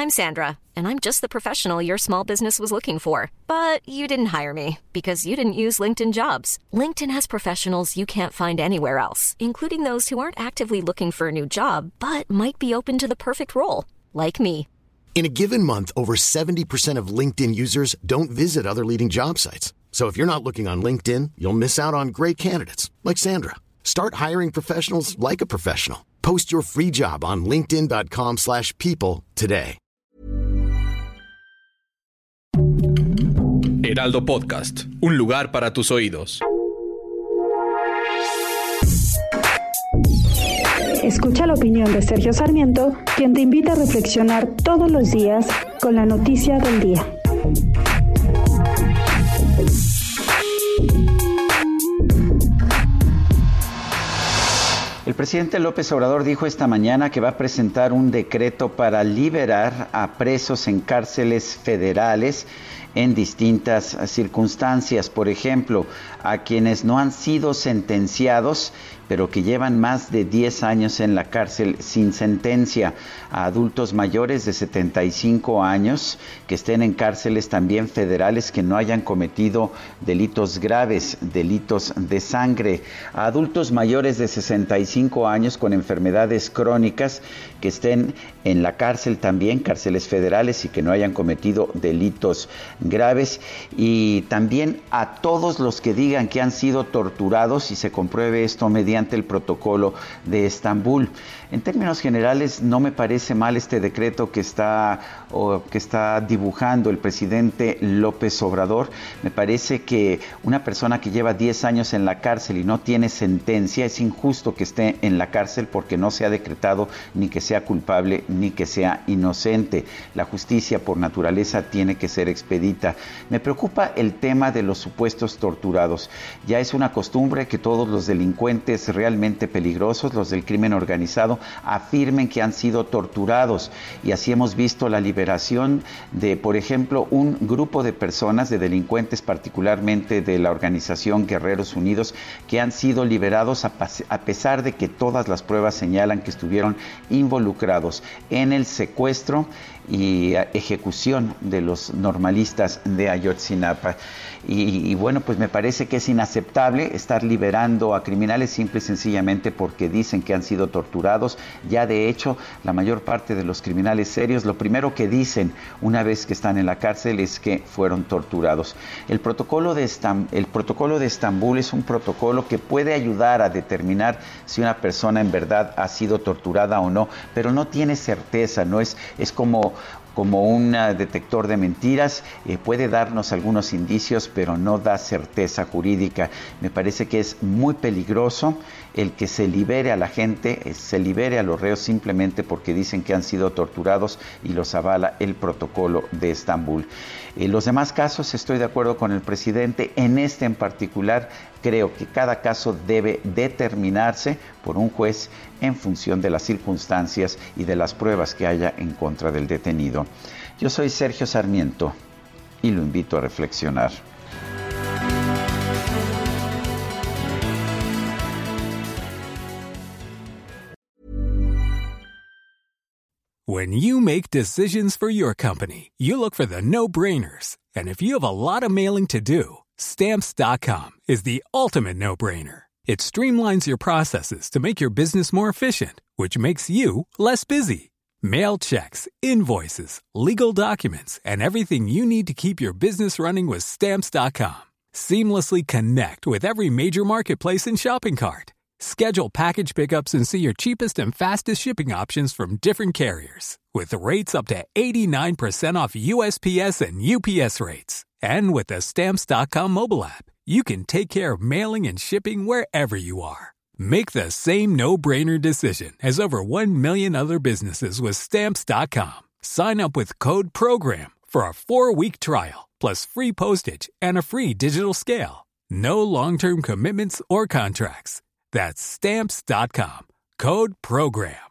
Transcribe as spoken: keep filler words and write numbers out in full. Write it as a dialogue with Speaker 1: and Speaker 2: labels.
Speaker 1: I'm Sandra, and I'm just the professional your small business was looking for. But you didn't hire me because you didn't use LinkedIn Jobs. LinkedIn has professionals you can't find anywhere else, including those who aren't actively looking for a new job, but might be open to the perfect role, like me.
Speaker 2: In a given month, over seventy percent of LinkedIn users don't visit other leading job sites. So if you're not looking on LinkedIn, you'll miss out on great candidates like Sandra. Start hiring professionals like a professional. Post your free job on linkedin dot com slash people today.
Speaker 3: Heraldo Podcast, un lugar para tus oídos.
Speaker 4: Escucha la opinión de Sergio Sarmiento, quien te invita a reflexionar todos los días con la noticia del día.
Speaker 5: El presidente López Obrador dijo esta mañana que va a presentar un decreto para liberar a presos en cárceles federales en distintas circunstancias. Por ejemplo, a quienes no han sido sentenciados, pero que llevan más de diez años en la cárcel sin sentencia, a adultos mayores de setenta y cinco años que estén en cárceles también federales que no hayan cometido delitos graves, delitos de sangre, a adultos mayores de sesenta y cinco años con enfermedades crónicas que estén en la cárcel también, cárceles federales, y que no hayan cometido delitos graves, y también a todos los que digan que han sido torturados y se compruebe esto mediante el protocolo de Estambul. En términos generales, no me parece mal este decreto que está, o que está dibujando el presidente López Obrador. Me parece que una persona que lleva diez años en la cárcel y no tiene sentencia, es injusto que esté en la cárcel porque no se ha decretado ni que sea culpable ni que sea inocente. La justicia por naturaleza tiene que ser expedita. Me preocupa el tema de los supuestos torturados. Ya es una costumbre que todos los delincuentes realmente peligrosos, los del crimen organizado, afirmen que han sido torturados, y así hemos visto la liberación de, por ejemplo, un grupo de personas, de delincuentes particularmente de la organización Guerreros Unidos, que han sido liberados a, a pesar de que todas las pruebas señalan que estuvieron involucrados en el secuestro y ejecución de los normalistas de Ayotzinapa. Y, y bueno, pues me parece que es inaceptable estar liberando a criminales simple y sencillamente porque dicen que han sido torturados. Ya de hecho, la mayor parte de los criminales serios, lo primero que dicen una vez que están en la cárcel es que fueron torturados. El protocolo de Estam- el protocolo de Estambul es un protocolo que puede ayudar a determinar si una persona en verdad ha sido torturada o no, pero no tiene certeza, no es, es como como un detector de mentiras, eh, puede darnos algunos indicios, pero no da certeza jurídica. Me parece que es muy peligroso el que se libere a la gente, eh, se libere a los reos simplemente porque dicen que han sido torturados y los avala el protocolo de Estambul. En los demás casos estoy de acuerdo con el presidente. En este en particular creo que cada caso debe determinarse por un juez en función de las circunstancias y de las pruebas que haya en contra del detenido. Yo soy Sergio Sarmiento y lo invito a reflexionar.
Speaker 6: When you make decisions for your company, you look for the no-brainers. And if you have a lot of mailing to do, Stamps dot com is the ultimate no-brainer. It streamlines your processes to make your business more efficient, which makes you less busy. Mail checks, invoices, legal documents, and everything you need to keep your business running with Stamps dot com. Seamlessly connect with every major marketplace and shopping cart. Schedule package pickups and see your cheapest and fastest shipping options from different carriers, with rates up to eighty-nine percent off U S P S and U P S rates. And with the Stamps dot com mobile app, you can take care of mailing and shipping wherever you are. Make the same no-brainer decision as over one million other businesses with Stamps dot com. Sign up with code PROGRAM for a four-week trial, plus free postage and a free digital scale. No long-term commitments or contracts. That's Stamps dot com. Code PROGRAM.